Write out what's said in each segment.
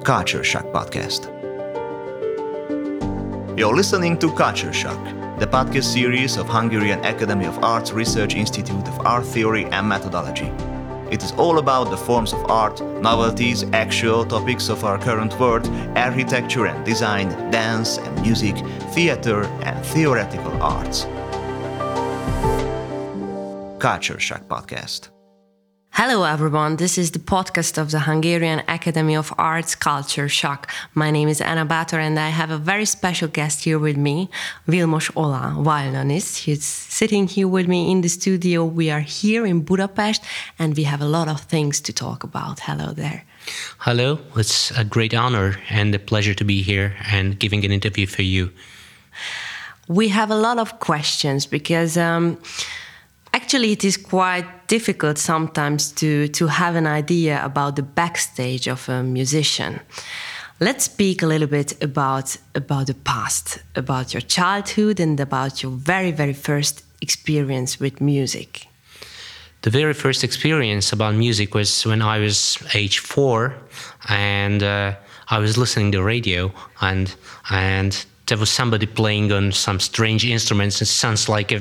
Culture Shock Podcast. You're listening to Culture Shock, the podcast series of Hungarian Academy of Arts Research Institute of Art Theory and Methodology. It is all about the forms of art, novelties, actual topics of our current world, architecture and design, dance and music, theater and theoretical arts. Culture Shock Podcast. Hello everyone, this is the podcast of the Hungarian Academy of Arts Culture Shock. My name is Anna Bátor and I have a very special guest here with me, Vilmos Ola, violinist. He's sitting here with me in the studio. We are here in Budapest and we have a lot of things to talk about. Hello there. Hello, it's a great honor and a pleasure to be here and giving an interview for you. We have a lot of questions because actually it is quite difficult sometimes to have an idea about the backstage of a musician. Let's speak a little bit about the past, about your childhood and about your very, very first experience with music. The very first experience about music was when I was age 4 and I was listening to the radio and there was somebody playing on some strange instruments. It sounds like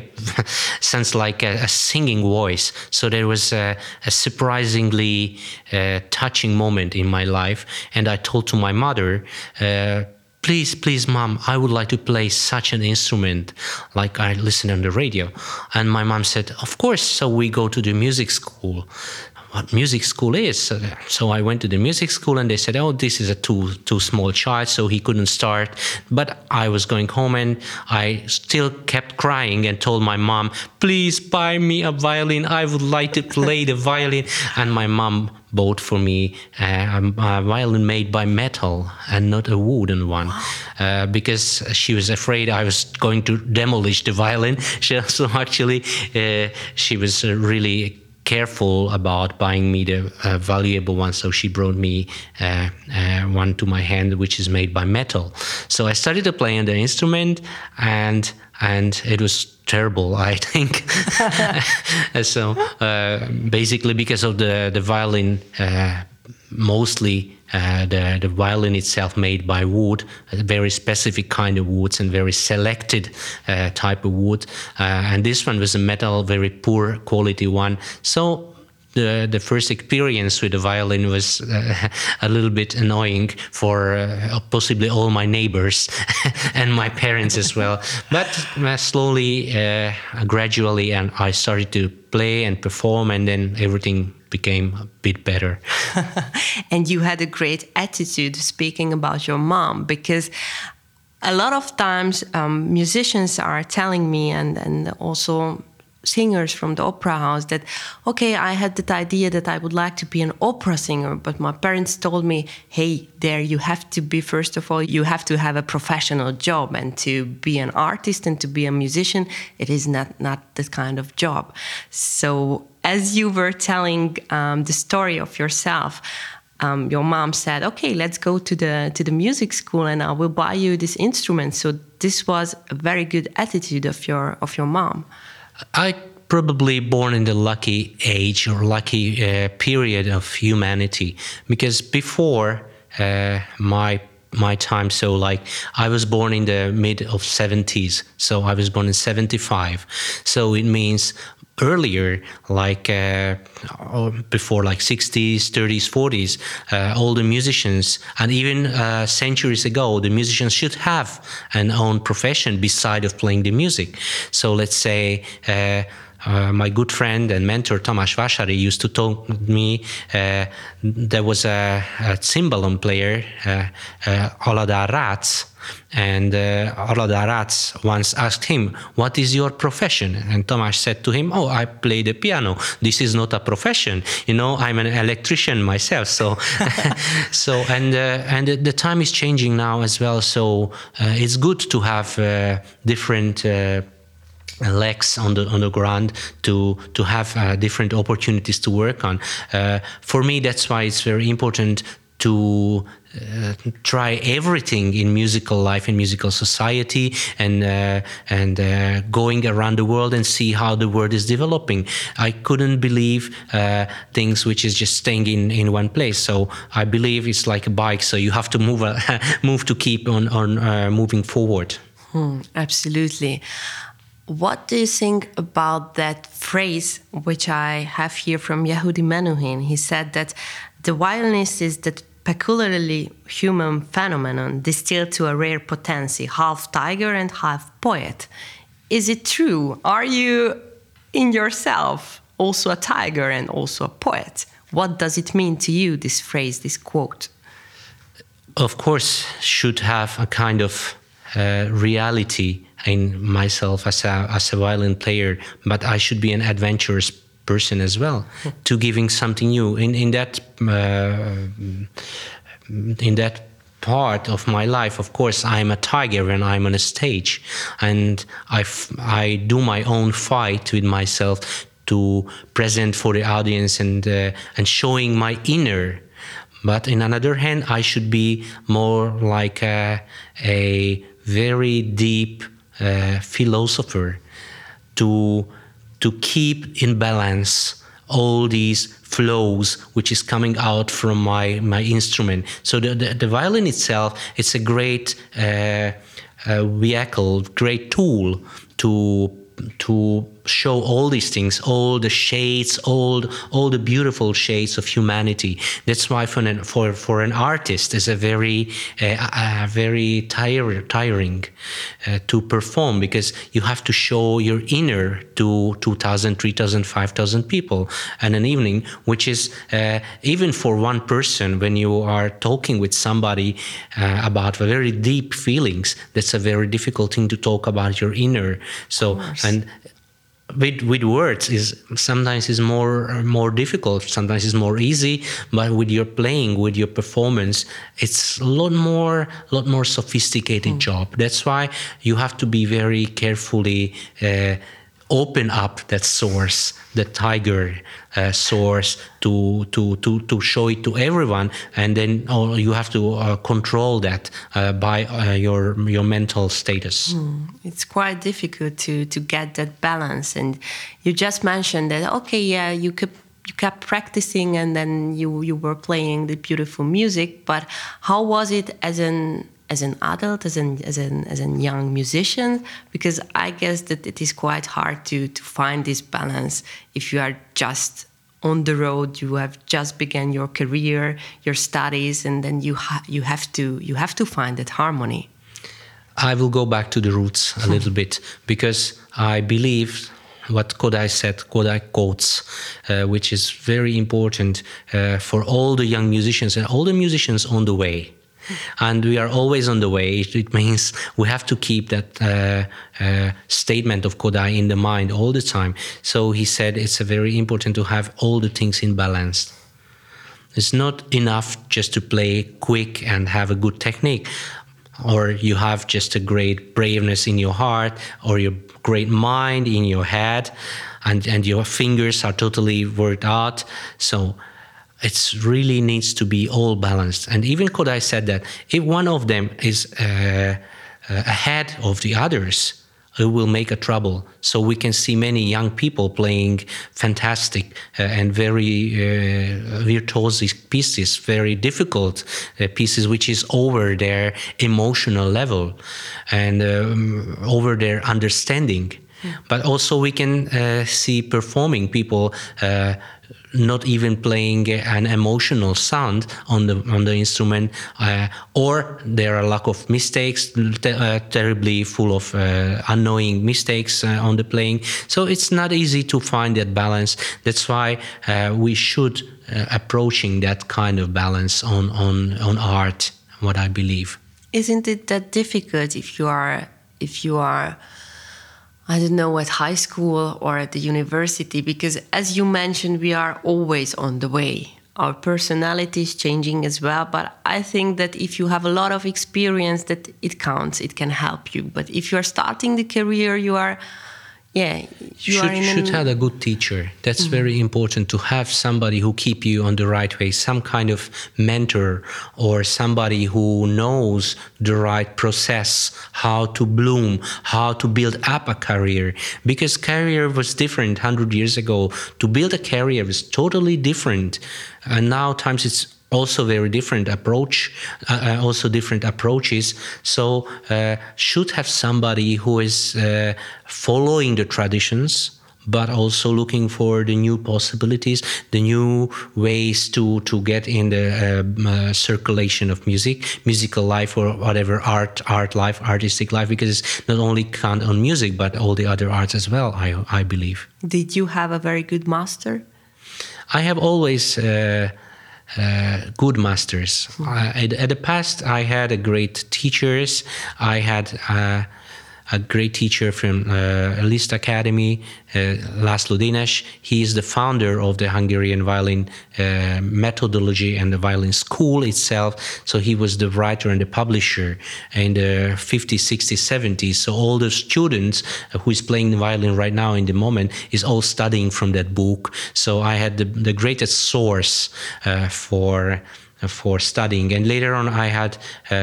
a singing voice. So there was a surprisingly touching moment in my life, and I told to my mother, please, Mom, I would like to play such an instrument like I listen on the radio. And my mom said, of course. So we go to the music school. What music school is. So I went to the music school and they said, oh, this is a too small child, so he couldn't start. But I was going home and I still kept crying and told my mom, please buy me a violin. I would like to play the violin. And my mom bought for me a violin made by metal and not a wooden one, because she was afraid I was going to demolish the violin. So actually she was really careful about buying me the valuable one, so she brought me one to my hand which is made by metal. So I started to play on the instrument and it was terrible, I think. So basically because of the violin, mostly the violin itself made by wood, a very specific kind of woods and very selected type of wood. And this one was a metal, very poor quality one. So the first experience with the violin was a little bit annoying for possibly all my neighbors and my parents as well. But slowly, gradually, and I started to play and perform, and then everything became a bit better. And you had a great attitude speaking about your mom, because a lot of times musicians are telling me and also singers from the opera house that, okay, I had that idea that I would like to be an opera singer, but my parents told me, hey, there you have to be, first of all, you have to have a professional job, and to be an artist and to be a musician, it is not that kind of job. So as you were telling the story of yourself, your mom said, okay, let's go to the music school and I will buy you this instrument. So this was a very good attitude of your mom. I probably born in the lucky age or lucky period of humanity, because before my time, so like I was born in the mid of 70s, so I was born in 75, so it means earlier, like before, like 60s, 30s, 40s, all the musicians, and even centuries ago, the musicians should have an own profession beside of playing the music. So let's say my good friend and mentor Tamás Vásári used to tell me there was a cymbalom player, Aladár Rácz, and Aladár Rácz once asked him, what is your profession? And Tamás said to him, oh, I play the piano. This is not a profession. You know, I'm an electrician myself. So, and the time is changing now as well. So it's good to have different legs on the ground to have different opportunities to work on. For me, that's why it's very important to try everything in musical life, in musical society, and going around the world and see how the world is developing. I couldn't believe things which is just staying in one place. So I believe it's like a bike. So you have to move move to keep on moving forward. Absolutely. What do you think about that phrase, which I have here from Yehudi Menuhin? He said that the violinist is the peculiarly human phenomenon distilled to a rare potency, half tiger and half poet. Is it true? Are you in yourself also a tiger and also a poet? What does it mean to you, this phrase, this quote? Of course, should have a kind of reality in myself as a violin player, but I should be an adventurous person as well, to giving something new in that part of my life. Of course, I'm a tiger when I'm on a stage, and I do my own fight with myself to present for the audience and showing my inner. But in another hand, I should be more like a very deep philosopher to keep in balance all these flows which is coming out from my instrument. So the violin itself, it's a great vehicle, great tool to show all these things, all the shades, all the beautiful shades of humanity. That's why for an artist, it's a very tiring to perform, because you have to show your inner to 2,000, 3,000, 5,000 people in an evening, which is even for one person, when you are talking with somebody about very deep feelings, that's a very difficult thing to talk about your inner. So and with words is sometimes is more difficult, sometimes it's more easy, but with your playing, with your performance, it's a lot more sophisticated job. That's why you have to be very carefully open up that source, the tiger source, to show it to everyone, and then you have to control that by your mental status. It's quite difficult to get that balance. And you just mentioned that, okay, yeah, you kept practicing, and then you were playing the beautiful music. But how was it as an adult, as a young musician? Because I guess that it is quite hard to find this balance if you are just on the road, you have just begun your career, your studies, and then you have to find that harmony. I will go back to the roots a little bit, because I believe what Kodály said, Kodály quotes, which is very important for all the young musicians and all the musicians on the way. And we are always on the way. It means we have to keep that statement of Kodály in the mind all the time. So he said it's very important to have all the things in balance. It's not enough just to play quick and have a good technique, or you have just a great braveness in your heart, or your great mind in your head, and your fingers are totally worked out. So it really needs to be all balanced. And even Kodály said that if one of them is ahead of the others, it will make a trouble. So we can see many young people playing fantastic and very virtuosic pieces, very difficult pieces, which is over their emotional level and over their understanding. But also we can see performing people not even playing an emotional sound on the instrument, or there are a lack of mistakes, terribly full of annoying mistakes on the playing. So it's not easy to find that balance. That's why we should approaching that kind of balance on art, what I believe. Isn't it that difficult if you are I don't know, at high school or at the university? Because as you mentioned, we are always on the way. Our personality is changing as well. But I think that if you have a lot of experience, that it counts, it can help you. But if you are starting the career, you are Yeah, you should have a good teacher. That's very important, to have somebody who keep you on the right way, some kind of mentor, or somebody who knows the right process, how to bloom, how to build up a career. Because career was different 100 years ago. To build a career was totally different. And now times it's also very different approach, also different approaches. So should have somebody who is following the traditions, but also looking for the new possibilities, the new ways to get in the circulation of musical life, or whatever art life, artistic life, because it's not only count on music, but all the other arts as well, I believe. Did you have a very good master? I have always good masters. At the past, I had a great teachers. I had a great teacher from Liszt Academy, László Dénes. He is the founder of the Hungarian violin methodology and the violin school itself. So he was the writer and the publisher in the 50s, 60s, 70s. So all the students who is playing the violin right now in the moment is all studying from that book. So I had the greatest source for studying. And later on, I had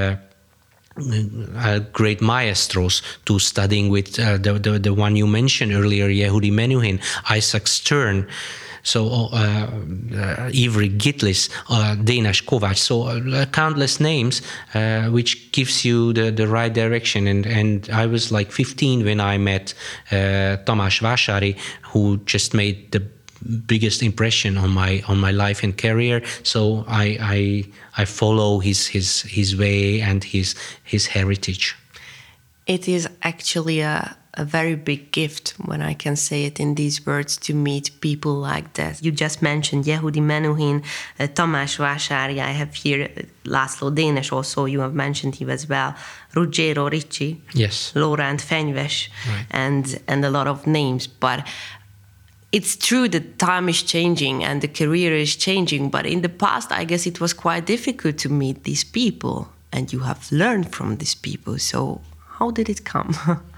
great maestros to studying with, the one you mentioned earlier, Yehudi Menuhin, Isaac Stern, so Ivry Gitlis, Dénes Kovács, so countless names, which gives you the right direction. And I was like 15 when I met Tamás Vásári, who just made the biggest impression on my life and career. So I follow his way and his heritage. It is actually a very big gift, when I can say it in these words, to meet people like that. You just mentioned Yehudi Menuhin, Tamás Vásári. I have here László Dénes also. You have mentioned him as well. Ruggiero Ricci. Yes. Laurent Fenyves. Right. And a lot of names. But it's true that time is changing and the career is changing, but in the past, I guess it was quite difficult to meet these people, and you have learned from these people. So how did it come?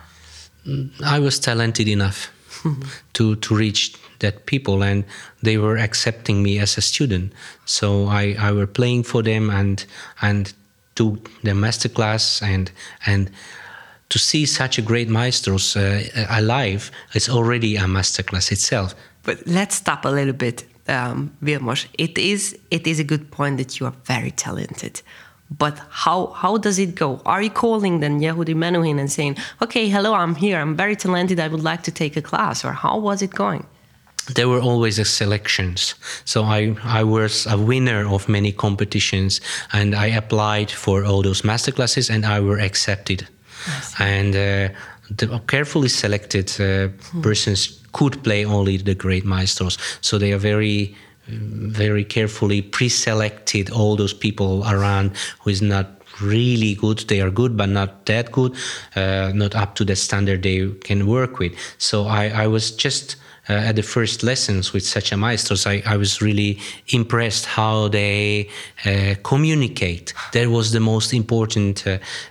I was talented enough to reach that people, and they were accepting me as a student. So I were playing for them and do the masterclass and to see such a great maestros alive is already a masterclass itself. But let's stop a little bit, Vilmos. It is a good point that you are very talented. But how does it go? Are you calling then Yehudi Menuhin and saying, okay, hello, I'm here, I'm very talented, I would like to take a class? Or how was it going? There were always selections. So I was a winner of many competitions, and I applied for all those masterclasses, and I were accepted. And the carefully selected persons could play only the great maestros. So they are very, very carefully pre-selected, all those people around who is not really good. They are good, but not that good, not up to the standard they can work with. So I was just at the first lessons with such a maestros, I was really impressed how they communicate. That was the most important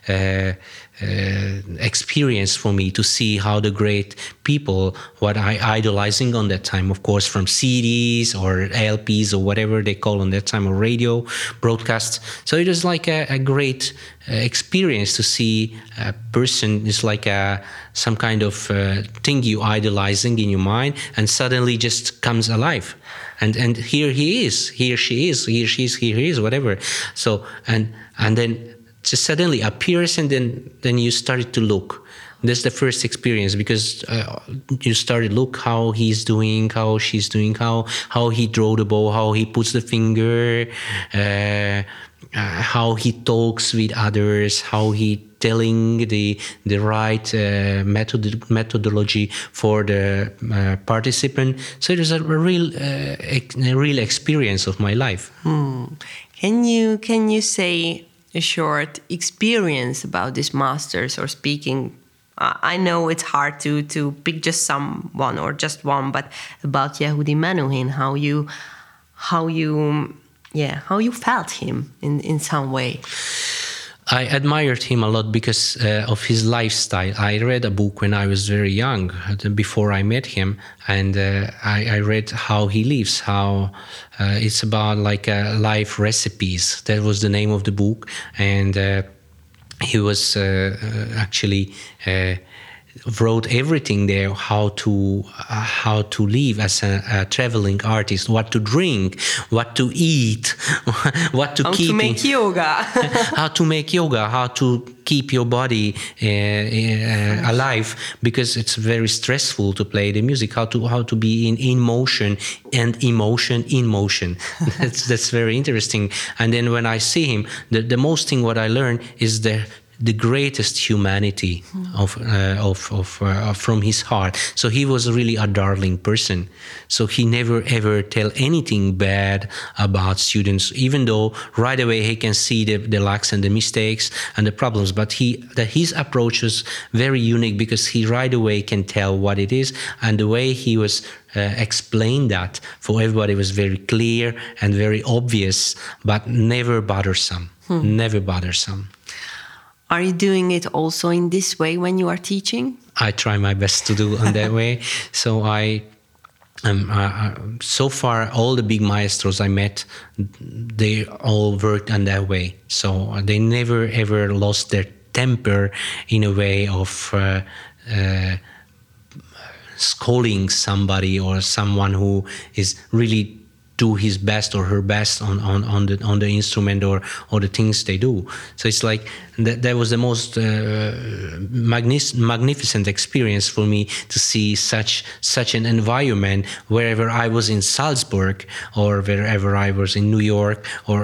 experience for me, to see how the great people, what I idolizing on that time, of course, from CDs or LPs or whatever they call on that time, or radio broadcasts. So it was like a great experience to see a person is like some kind of thing you idolizing in your mind, and suddenly just comes alive. And here he is, here she is, here she is, here he is, whatever. So and then just suddenly appears, and then you started to look. That's the first experience, because you started look how he's doing, how she's doing, how he draw the bow, how he puts the finger, how he talks with others, how he telling the right methodology for the participant. So it was a real experience of my life. Can you say a short experience about these masters, or speaking? I know it's hard to pick just someone or just one, but about Yehudi Menuhin, how you felt him in some way. I admired him a lot because of his lifestyle. I read a book when I was very young, before I met him, and I read how he lives, how it's about like life recipes. That was the name of the book, and he was actually wrote everything there, how to live as a traveling artist, what to drink, what to eat, what to keep, to make yoga, how to make yoga, how to keep your body alive, because it's very stressful to play the music, how to be in motion and emotion in motion. That's very interesting. And then when I see him, the most thing what I learned is the greatest humanity from his heart. So he was really a darling person. So he never ever tell anything bad about students, even though right away he can see the lacks and the mistakes and the problems. But his approach was very unique, because he right away can tell what it is, and the way he was explained that for everybody was very clear and very obvious, but never bothersome. Never bothersome. Are you doing it also in this way when you are teaching? I try my best to do in that way. So so far, all the big maestros I met, they all worked in that way. So they never ever lost their temper in a way of scolding somebody or someone who is really do his best or her best on the instrument or the things they do. So it's like that was the most magnificent experience for me, to see such an environment wherever I was in Salzburg or wherever I was in New York or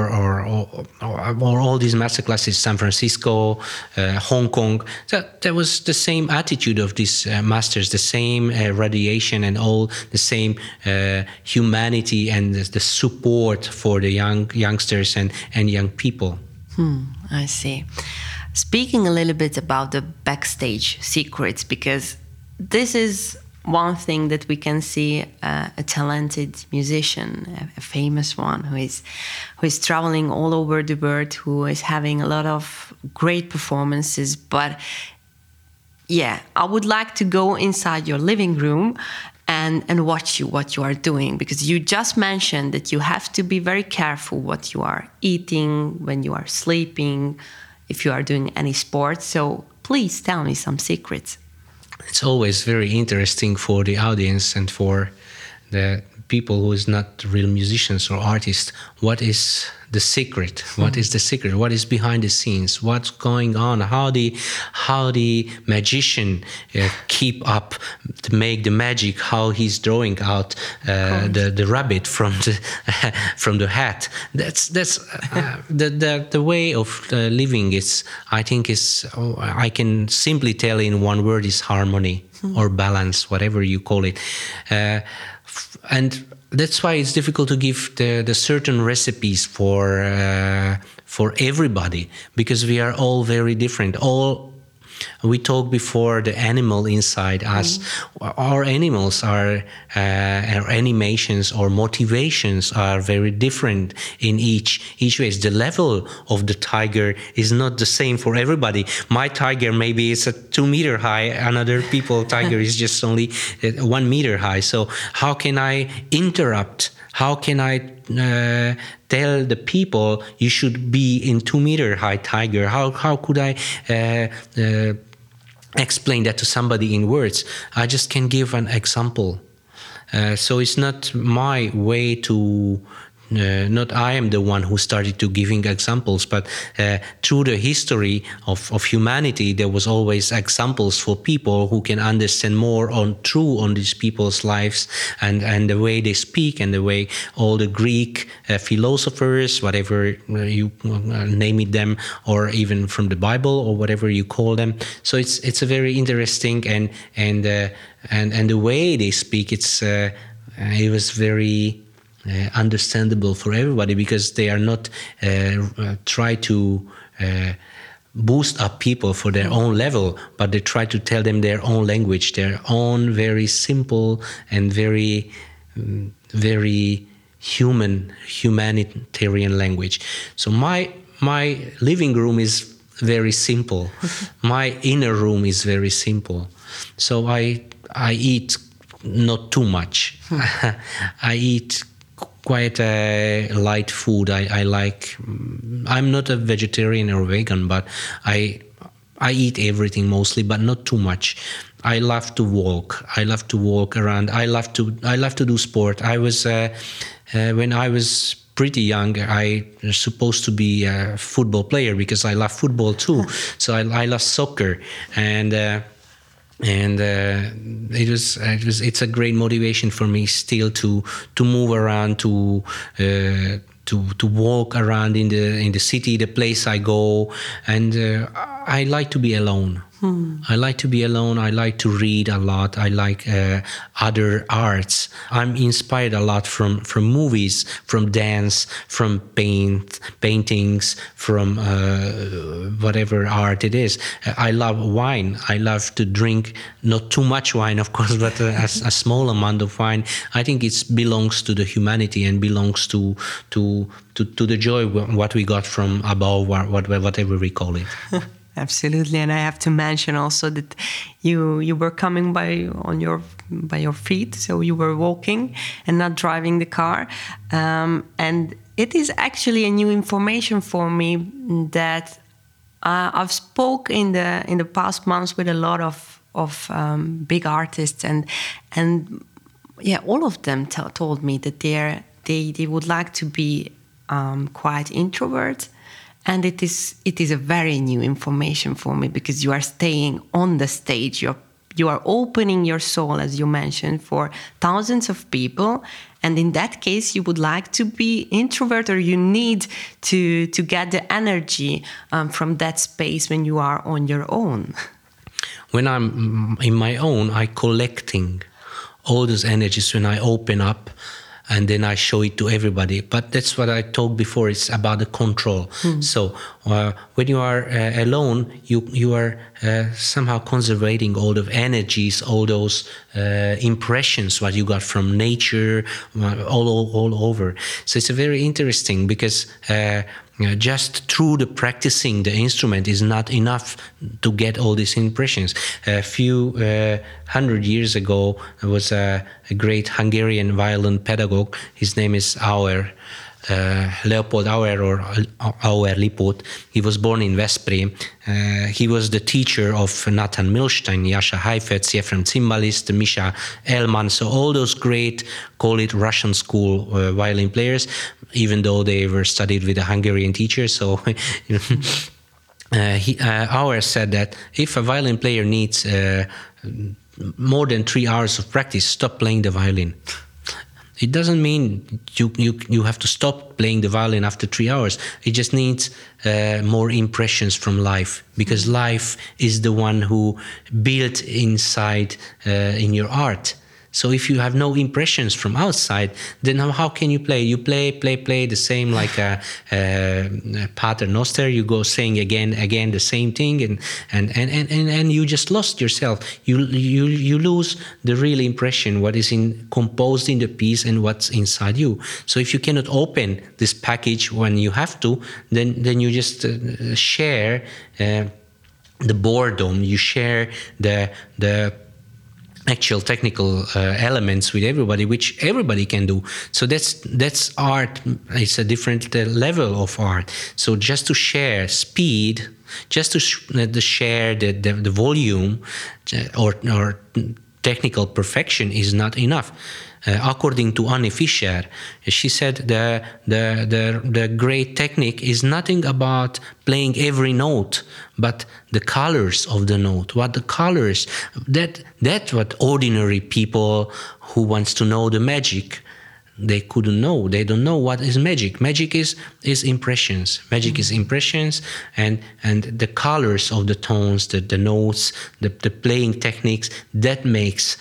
all these masterclasses, San Francisco, Hong Kong. That was the same attitude of these masters, the same radiation and all the same humanity and the support for the youngsters and young people. I see. Speaking a little bit about the backstage secrets, because this is one thing that we can see a talented musician, a famous one who is traveling all over the world, who is having a lot of great performances. But yeah, I would like to go inside your living room and watch what you are doing, because you just mentioned that you have to be very careful what you are eating, when you are sleeping, if you are doing any sports. So please tell me some secrets. It's always very interesting for the audience and for the people who is not real musicians or artists. What is the secret? What is the secret? What is behind the scenes? What's going on? How the magician keep up to make the magic? How he's drawing out the rabbit from the hat? That's the way of living. I can simply tell in one word is harmony or balance, whatever you call it. And that's why it's difficult to give the certain recipes for everybody, because we are all very different. We talked before the animal inside us. Our animals our animations or motivations are very different in each way. The level of the tiger is not the same for everybody. My tiger maybe is 2 meter high. Another people tiger is just only 1 meter high. So how can I interrupt? How can I tell the people you should be in 2 meter high tiger? How could I explain that to somebody in words? I just can give an example. So it's not my way to. Not I am the one who started to giving examples, but through the history of humanity, there was always examples for people who can understand more on these people's lives and the way they speak and the way all the Greek philosophers, whatever you name it them, or even from the Bible or whatever you call them. So it's a very interesting and the way they speak. It was very understandable for everybody, because they are not try to boost up people for their own level, but they try to tell them their own language, their own very simple and very humanitarian language. So my living room is very simple. My inner room is very simple. So I eat not too much. I eat quite a light food. I like. I'm not a vegetarian or vegan, but I eat everything mostly, but not too much. I love to walk. I love to walk around. I love to do sport. I was when I was pretty young, I was supposed to be a football player because I love football too. So I love soccer, and it's a great motivation for me still to move around, to walk around in the city, the place I go, and I like to be alone. I like to be alone. I like to read a lot. I like other arts. I'm inspired a lot from movies, from dance, from paintings, from whatever art it is. I love wine. I love to drink, not too much wine, of course, but a small amount of wine. I think it belongs to the humanity and belongs to the joy what we got from above, whatever we call it. Absolutely, and I have to mention also that you were coming by your feet, so you were walking and not driving the car, and it is actually a new information for me that I've spoke in the past months with a lot of big artists, and yeah, all of them told me that they would like to be quite introvert. And it is a very new information for me, because you are staying on the stage. You are opening your soul, as you mentioned, for thousands of people. And in that case, you would like to be introvert, or you need to get the energy from that space when you are on your own. When I'm in my own, I'm collecting all those energies when I open up, and then I show it to everybody. But that's what I talked before. It's about the control. So when you are alone, you are somehow conserving all the energies, all those impressions what you got from nature, all over. So it's a very interesting, because just through the practicing the instrument is not enough to get all these impressions. A few 100 years ago, there was a great Hungarian violin pedagogue. His name is Auer, Leopold Auer, or Auer Lipót. He was born in Veszprém. He was the teacher of Nathan Milstein, Jascha Heifetz, Ephraim Zimbalist, Misha Elman. So all those great, call it Russian school violin players, even though they were studied with a Hungarian teacher. So Auer said that if a violin player needs more than 3 hours of practice, stop playing the violin. It doesn't mean you have to stop playing the violin after 3 hours. It just needs more impressions from life, because life is the one who built inside in your art. So if you have no impressions from outside, then how can you play? You play the same, like a Pater Noster. You go saying again the same thing, and you just lost yourself. You lose the real impression, what is composed in the piece and what's inside you. So if you cannot open this package when you have to, then you just share the boredom. You share the actual technical elements with everybody, which everybody can do. So that's art. It's a different level of art. So just to share speed, just to share the volume or technical perfection is not enough. According to Annie Fischer, she said the great technique is nothing about playing every note, but the colors of the note. What the colors, that's what ordinary people who wants to know the magic, they couldn't know. They don't know what is magic. Magic is impressions. Magic is impressions, and the colors of the tones, the notes, the playing techniques. That makes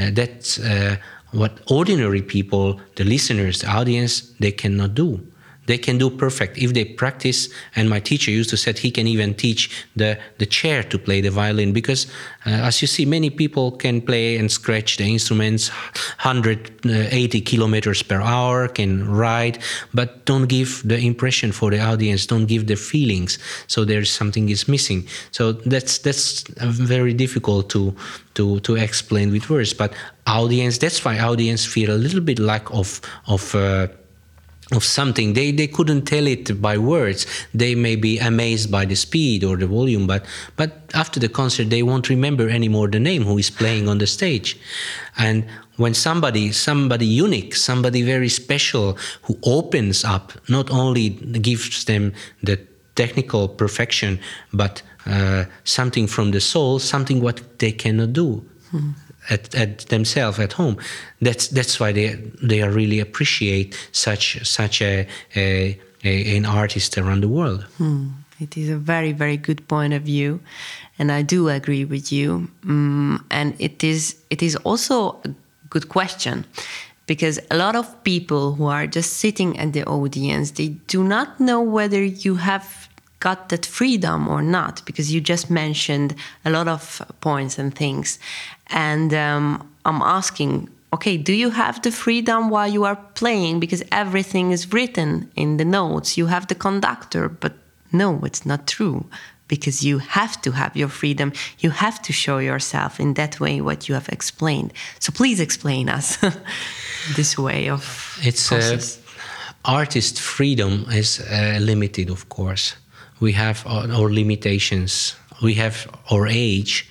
what ordinary people, the listeners, the audience, they cannot do. they can do perfect if they practice. And my teacher used to say he can even teach the chair to play the violin, because as you see, many people can play and scratch the instruments 180 kilometers per hour, can ride, but don't give the impression for the audience, don't give the feelings. So there's something is missing. So that's very difficult to explain with words. But audience, that's why audience feel a little bit lack of something. They couldn't tell it by words. They may be amazed by the speed or the volume, but after the concert they won't remember anymore the name who is playing on the stage. And when somebody unique, somebody very special who opens up, not only gives them the technical perfection, but something from the soul, something what they cannot do at themselves at home. That's why they are really appreciate such an artist around the world. It is a very, very good point of view, and I do agree with you. And it is also a good question, because a lot of people who are just sitting at the audience, they do not know whether you have got that freedom or not, because you just mentioned a lot of points and things. And I'm asking, okay, do you have the freedom while you are playing? Because everything is written in the notes. You have the conductor, but no, it's not true, because you have to have your freedom. You have to show yourself in that way what you have explained. So please explain us this way of process. Artist freedom is limited, of course. We have our limitations. We have our age.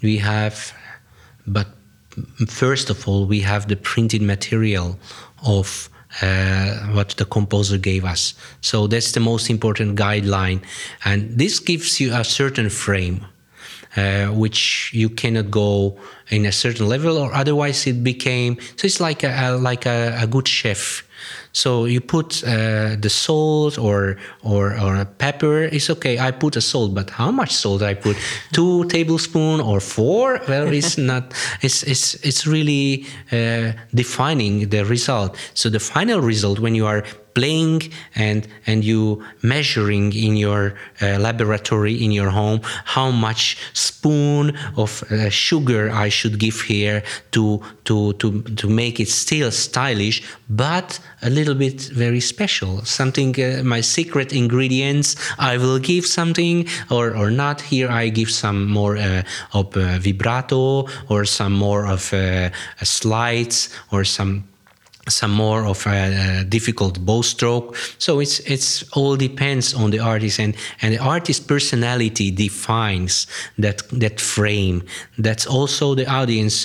But first of all, we have the printed material of what the composer gave us. So that's the most important guideline. And this gives you a certain frame, which you cannot go in a certain level, or otherwise it became. So it's like a good chef. So you put the salt or a pepper. It's okay. I put a salt, but how much salt I put? 2 tablespoons or 4? Well, it's not. It's really defining the result. So the final result, when you are playing and you measuring in your laboratory in your home how much spoon of sugar I should give here to make it still stylish, but a little bit very special. Something, my secret ingredients, I will give something or not. Here I give some more of vibrato, or some more of slides, or some more of a difficult bow stroke. So it's all depends on the artist, and the artist's personality defines that frame. That's also the audience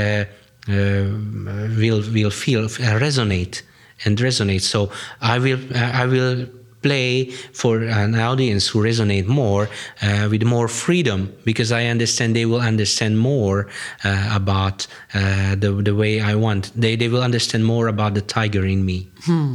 will feel resonate. So I will play for an audience who resonate more with more freedom, because I understand they will understand more about the way I want. They will understand more about the tiger in me.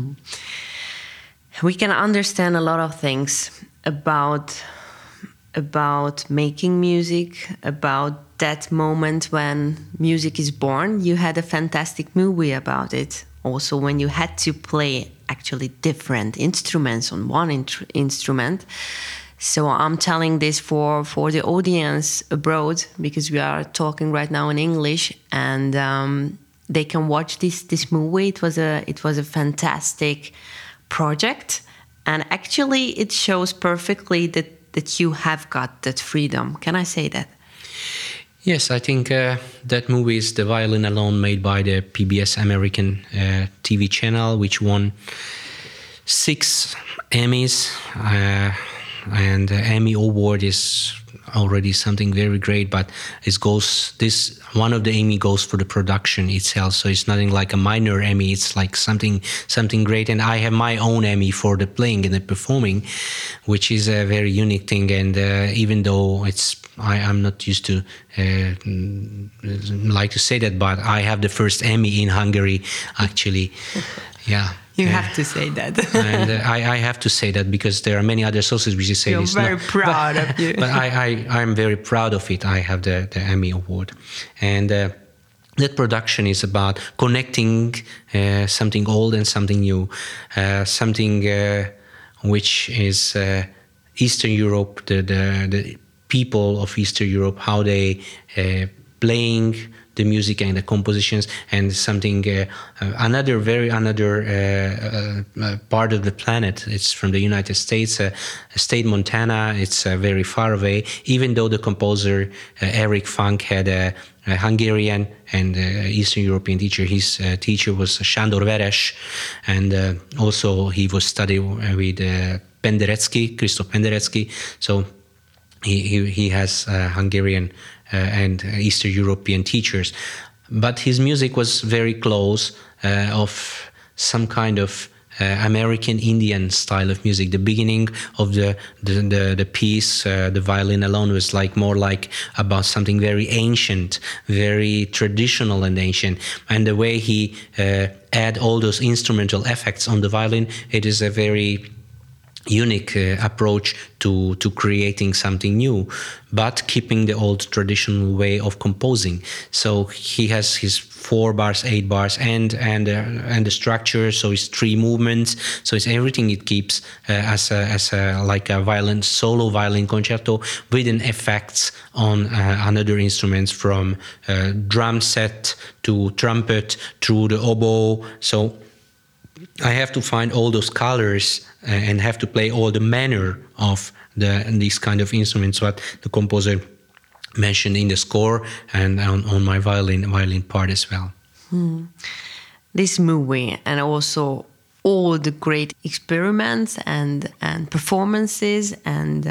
We can understand a lot of things about making music, about that moment when music is born. You had a fantastic movie about it. Also, when you had to play actually different instruments on one instrument. So I'm telling this for the audience abroad, because we are talking right now in English, and they can watch this movie. It was a fantastic project, and actually it shows perfectly that you have got that freedom. Can I say that? Yes, I think that movie is The Violin Alone, made by the PBS American TV channel, which won 6 Emmys. And the Emmy Award is already something very great, but one of the Emmy goes for the production itself. So it's nothing like a minor Emmy. It's like something great. And I have my own Emmy for the playing and the performing, which is a very unique thing. And even though I'm not used to like to say that, but I have the first Emmy in Hungary, actually. Yeah. You have to say that. And I have to say that, because there are many other sources which say this. You're very proud of you. But I'm very proud of it. I have the Emmy Award. And that production is about connecting something old and something new, something which is Eastern Europe, the people of Eastern Europe, how they playing the music and the compositions, and something another part of the planet. It's from the United States, state Montana. It's very far away. Even though the composer Erich Funk had a Hungarian and Eastern European teacher, his teacher was Sándor Veres, and also he was studying with Penderecki, Christoph Penderecki. So he has Hungarian and Eastern European teachers, but his music was very close of some kind of American Indian style of music. The beginning of the piece, the violin alone, was more like about something very ancient, very traditional and ancient. And the way he add all those instrumental effects on the violin, it is a very unique approach to creating something new, but keeping the old traditional way of composing. So he has his 4 bars, 8 bars, and the structure. So it's 3 movements. So it's everything. It keeps as a like a violin solo violin concerto with an effects on another instruments, from drum set to trumpet through the oboe. So I have to find all those colors and have to play all the manner of these kind of instruments, what the composer mentioned in the score and on my violin part as well. This movie, and also all the great experiments and performances and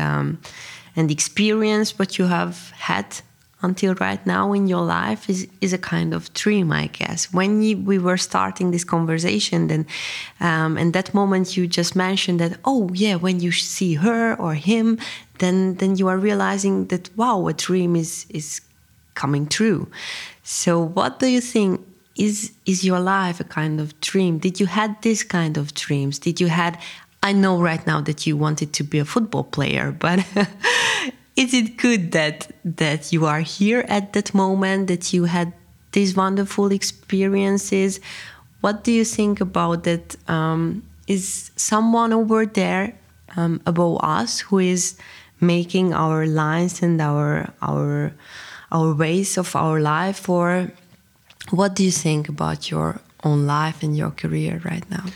experience what you have had until right now in your life is a kind of dream, I guess. When we were starting this conversation, then in that moment you just mentioned that, oh yeah, when you see her or him, then you are realizing that, wow, a dream is coming true. So what do you think is your life a kind of dream? Did you had this kind of dreams? I know right now that you wanted to be a football player, but is it good that you are here at that moment, that you had these wonderful experiences? What do you think about that? Is someone over there above us who is making our lines and our ways of our life? Or what do you think about your own life and your career right now?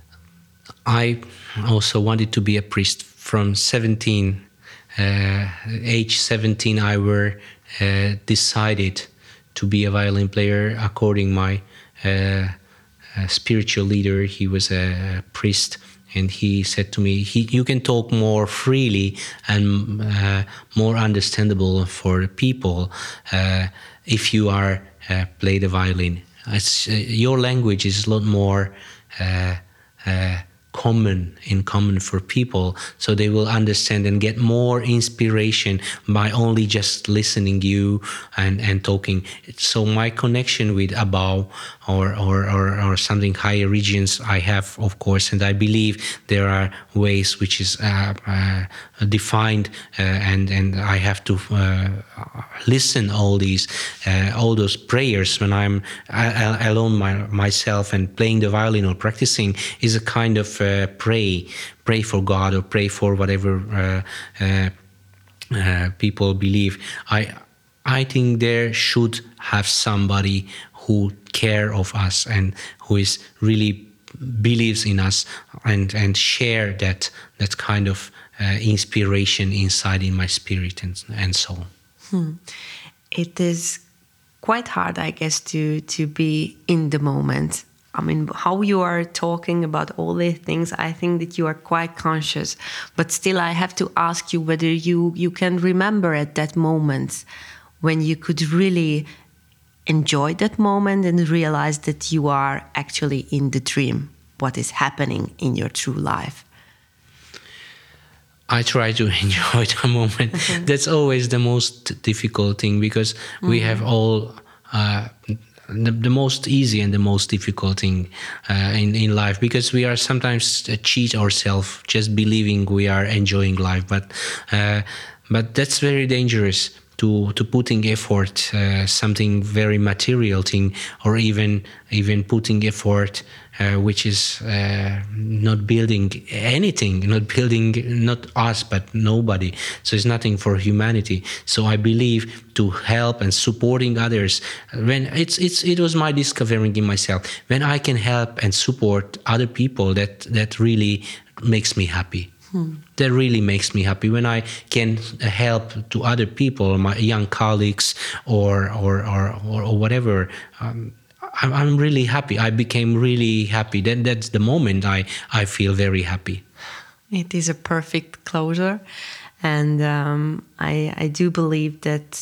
I also wanted to be a priest from 17. Age 17, I were decided to be a violin player according my spiritual leader. He was a priest, and he said to me, you can talk more freely and more understandable for the people if you are play the violin. Your language is a lot more common for people, so they will understand and get more inspiration by only just listening you and talking. So my connection with above or something higher regions I have, of course, and I believe there are ways which is defined and I have to listen all those prayers when I'm alone myself and playing the violin or practicing is a kind of pray for God or pray for whatever people believe. I think there should have somebody who care of us and who is really believes in us and share that kind of inspiration inside in my spirit and soul. It is quite hard, I guess, to be in the moment. I mean, how you are talking about all these things, I think that you are quite conscious. But still, I have to ask you whether you can remember at that moment when you could really enjoy that moment and realize that you are actually in the dream, what is happening in your true life. I try to enjoy the moment. That's always the most difficult thing, because we have all the most easy and the most difficult thing in life, because we are sometimes cheat ourselves just believing we are enjoying life, but that's very dangerous to putting effort, something very material thing, or even putting effort which is not building anything, not us but nobody. So it's nothing for humanity. So I believe to help and supporting others, when it was my discovering in myself, when I can help and support other people, that really makes me happy. That really makes me happy when I can help to other people, my young colleagues or whatever. I'm really happy. I became really happy. Then that's the moment I feel very happy. It is a perfect closure, and I do believe that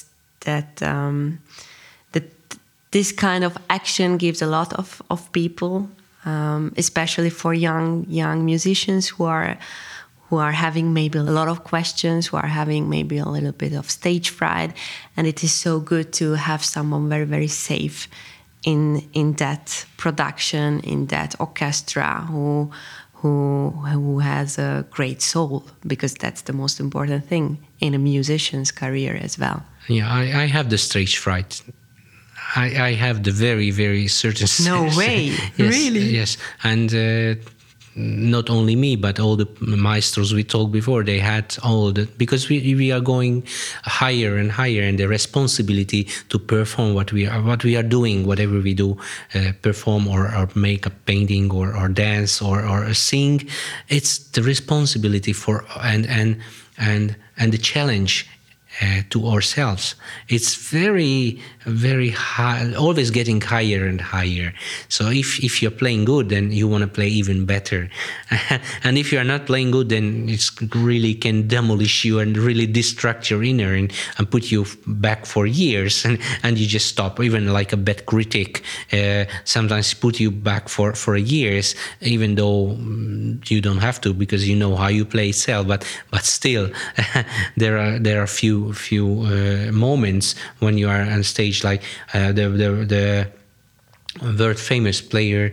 this kind of action gives a lot of people, especially for young musicians who are having maybe a lot of questions, who are having maybe a little bit of stage fright, and it is so good to have someone very, very safe in that production, in that orchestra, who has a great soul, because that's the most important thing in a musician's career as well. Yeah, I have the stage fright. I have the very, very certain. No way, yes, really? Yes, and not only me, but all the maestros we talked before, they had all that, because we are going higher and higher, and the responsibility to perform what we are doing, whatever we do, perform or make a painting or dance or sing, it's the responsibility for and the challenge to ourselves. It's very, very high, always getting higher and higher. So if you're playing good, then you want to play even better. And if you're not playing good, then it's really can demolish you and really distract your inner and put you back for years, and you just stop. Even like a bad critic sometimes put you back for years, even though you don't have to, because you know how you play itself. But still, there are few moments when you are on stage, like the world famous player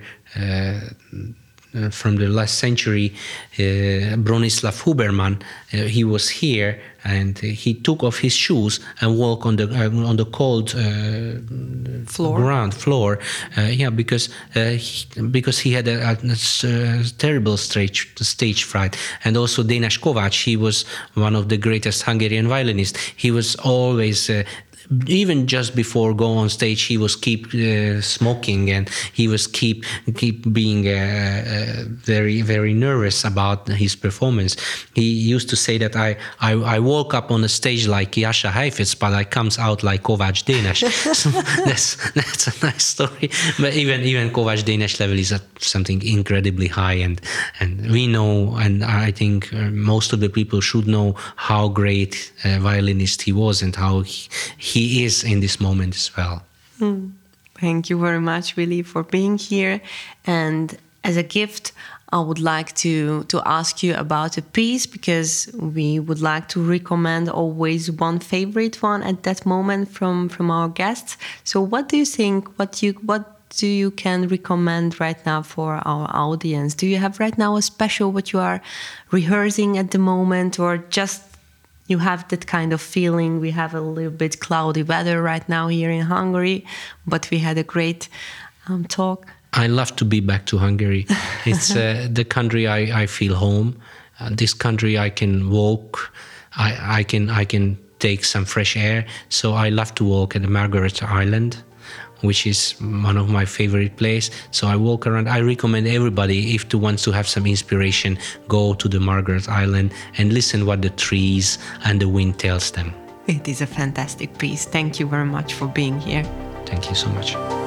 from the last century, Bronislaw Huberman. He was here, and he took off his shoes and walked on the cold ground floor. Because he had a terrible stage fright. And also Dénes Kovács, he was one of the greatest Hungarian violinists. He was always even just before go on stage, he was keep smoking, and he was keep being very, very nervous about his performance. He used to say that I woke up on the stage like Jascha Heifetz, but I comes out like Kovács Dénes. So that's a nice story. But even Kovács Dénes level is at something incredibly high, and we know, and I think most of the people should know how great a violinist he was, and how he is in this moment as well. Thank you very much, Willy, for being here. And as a gift, I would like to ask you about a piece, because we would like to recommend always one favorite one at that moment from our guests. So what do you think, what do you can recommend right now for our audience? Do you have right now a special what you are rehearsing at the moment, or just you have that kind of feeling? We have a little bit cloudy weather right now here in Hungary, but we had a great talk. I love to be back to Hungary. It's the country I feel home. This country I can walk. I can take some fresh air. So I love to walk at the Margaret Island, which is one of my favorite places. So I walk around. I recommend everybody, if wants to have some inspiration, go to the Margaret Island and listen what the trees and the wind tells them. It is a fantastic piece. Thank you very much for being here. Thank you so much.